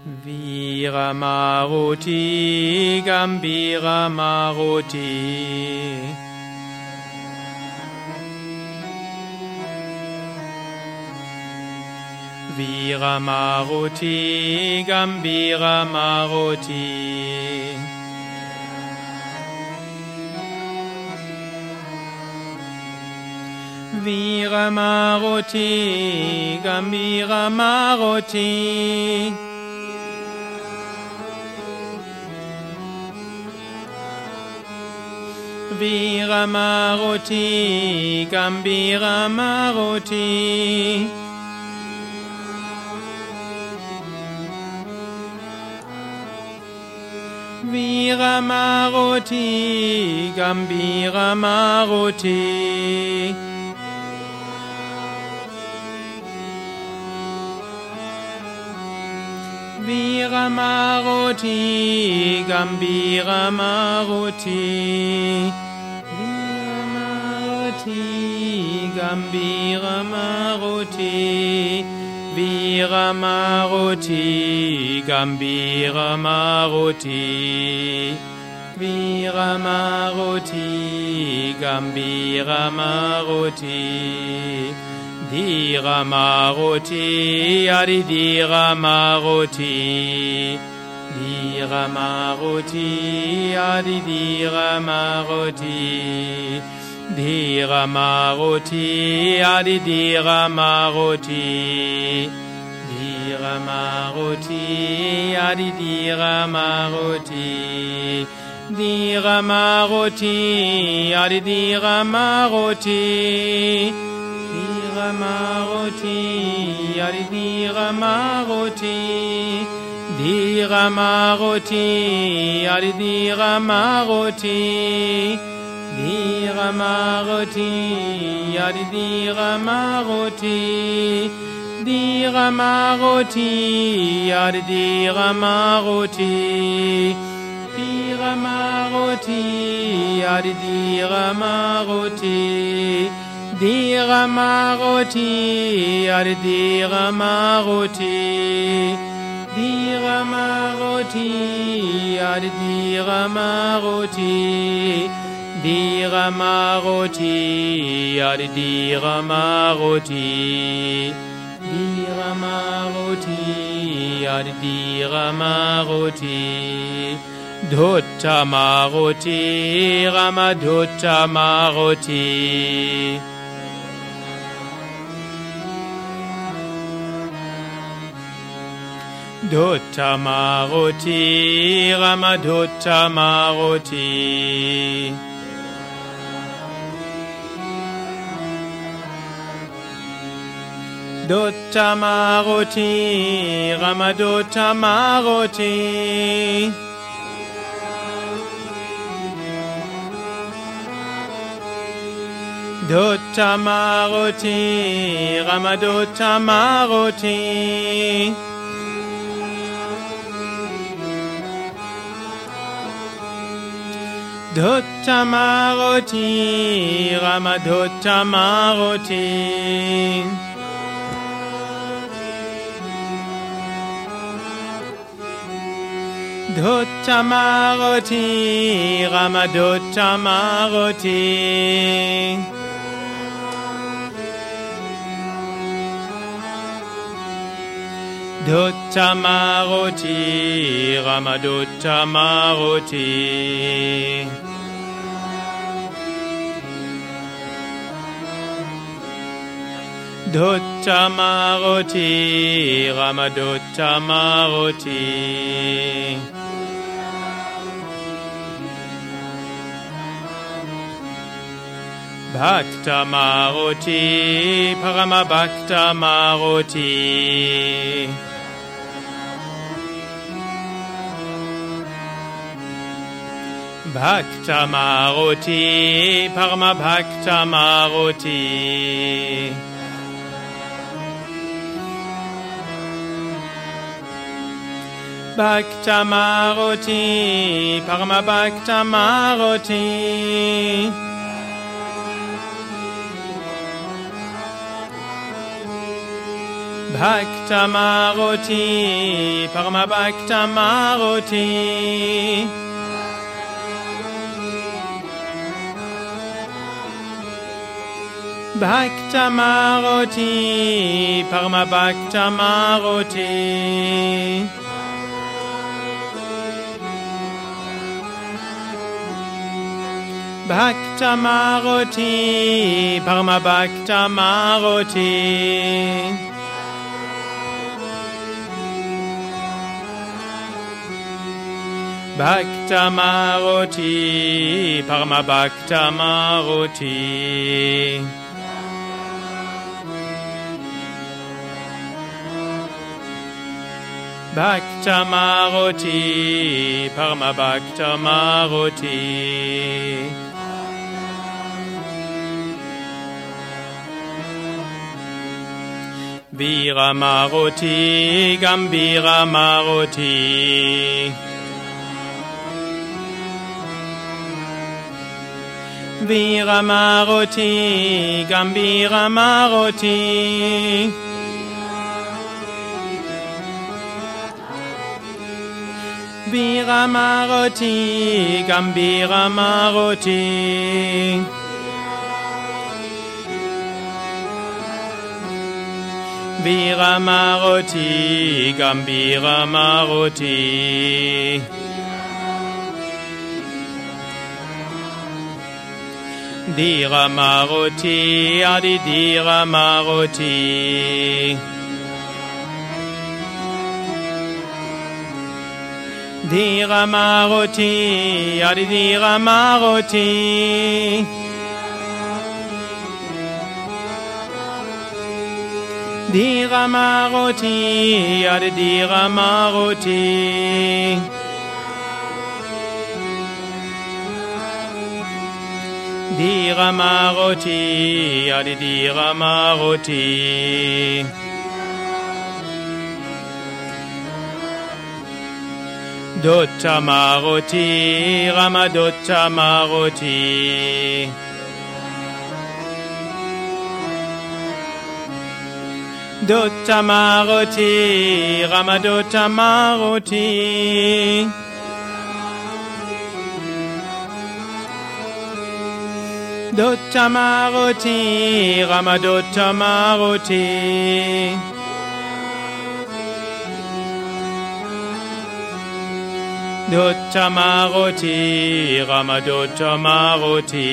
Viramaruti Gambira Maruti Viramaruti Gambira Maruti Viramaruti Gambira Maruti Viramaruti Gambira Maruti Viramaruti Gambira Maruti Viramaruti Gambira Maruti Gambira Maruti Viramaruti Gambira Maruti Viramaruti Gambira Maruti Dhiramaruti Adidhiramaruti Dhiramaruti Adidhiramaruti Dhiramaruti Adidhiramaruti Dhiramaruti Adidhiramaruti Dhiramaruti Adidhiramaruti Dhiramaruti Adidhiramaruti Dhiramaruti Adidhiramaruti Dhiramaruti Adidhiramaruti Dhiramaruti Adidhiramaruti Dhiramaruti Adidhiramaruti Dhiramaruti Adidhiramaruti Dhiramaruti Adidhiramaruti Dhiramaruti Adidhiramaruti Dhiramaruti Adidhiramaruti Dhuttamaruti Ramadhuttamaruti Dhuttamaruti Ramadhuttamaruti Dhuttamaruti Ramadhuttamaruti Dhuttamaruti Ramadhuttamaruti Dhuttamaruti Ramadhuttamaruti Dhuttamaruti Ramadhuttamaruti Dhuttamaruti Ramadhuttamaruti Dhuttamaruti Ramadhuttamaruti Bhaktamaruti Paramabhaktamaruti Bhaktamaruti Paramabhaktamaruti Bhaktamaruti Paramabhaktamaruti Bhakta Maruti, Paramabhakta Maruti. Bhakta Maruti, Paramabhakta Maruti. Bhakta Maruti, Paramabhakta Maruti. Bhakta Maruti, Paramabhakta Maruti. Bhakta Maruti, Paramabhakta Maruti. Vira Maruti, Gambira Maruti. Vira Maruti, Gambira Maruti. Vira Maruti, Gambira Maruti. Vira Maruti, Gambira Maruti. Dira Maruti, Adi Dira Maruti. Dira Maruti, Adi Dira Maruti. Dira Maruti, Adi Dira Maruti. Dira Maruti, Adi Dira Maruti. Dotta Maruti, Ramadotta Maruti. Dotta Maruti, Ramadotta Maruti. Dotta Maruti, Ramadotta Maruti. Dotta Maruti, Ramadotta Maruti.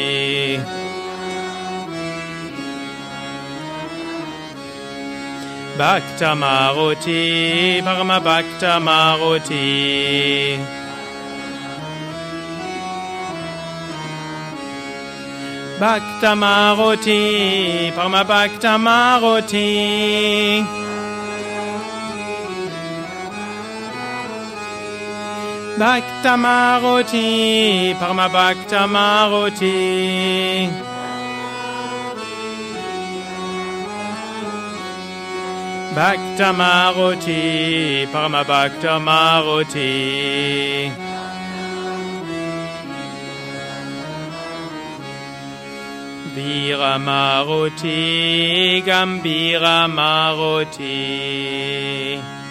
Bhakta Maruti, Paramabhakta Maruti. Bhakta Maruti, Paramabhakta Maruti. Bhakta Maruti, Paramabhakta Maruti. Bhakta Maruti, Paramabhakta Maruti. Vira Maruti, Gambira Maruti.